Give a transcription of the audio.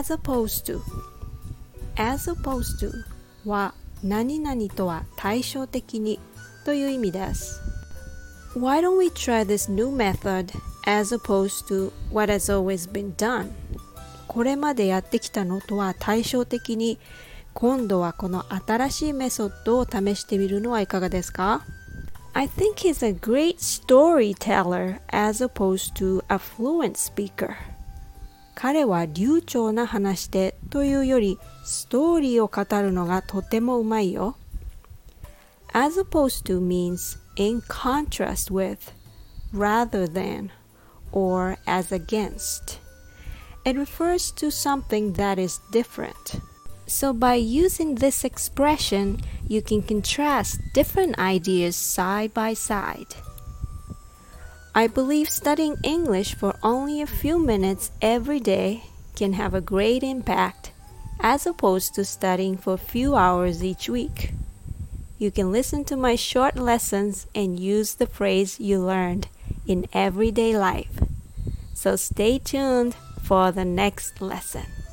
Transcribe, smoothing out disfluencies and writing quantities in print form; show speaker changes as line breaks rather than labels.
as opposed to as opposed to は何々とは対照的にという意味です。Why don't we try this new method as opposed to what has always been done? これまでやってきたのとは対照的に今度はこの新しいメソッドを試してみるのはいかがですか？ I think he's a great storyteller as opposed to a fluent speaker. 彼は流暢な話し手というよりストーリーを語るのがとてもうまいよ。As opposed to means in contrast with, rather than, or as against. It refers to something that is different. So by using this expression, you can contrast different ideas side by side. I believe studying English for only a few minutes every day can have a great impact as opposed to studying for a few hours each week. You can listen to my short lessons and use the phrase you learned in everyday life. So stay tuned for the next lesson.